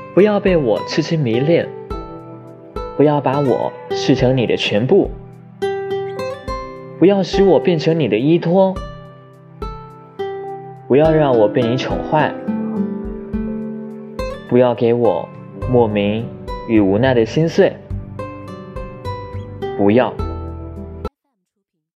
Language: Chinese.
不要被我痴痴迷恋，不要把我视成你的全部，不要使我变成你的依托，不要让我被你宠坏，不要给我莫名与无奈的心碎，不要。